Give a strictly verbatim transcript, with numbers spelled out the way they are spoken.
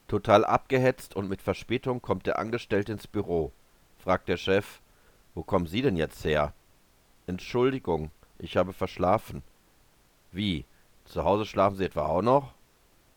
Total abgehetzt und mit Verspätung kommt der Angestellte ins Büro. Fragt der Chef: Wo kommen Sie denn jetzt her? Entschuldigung, ich habe verschlafen. Wie? Zu Hause schlafen Sie etwa auch noch?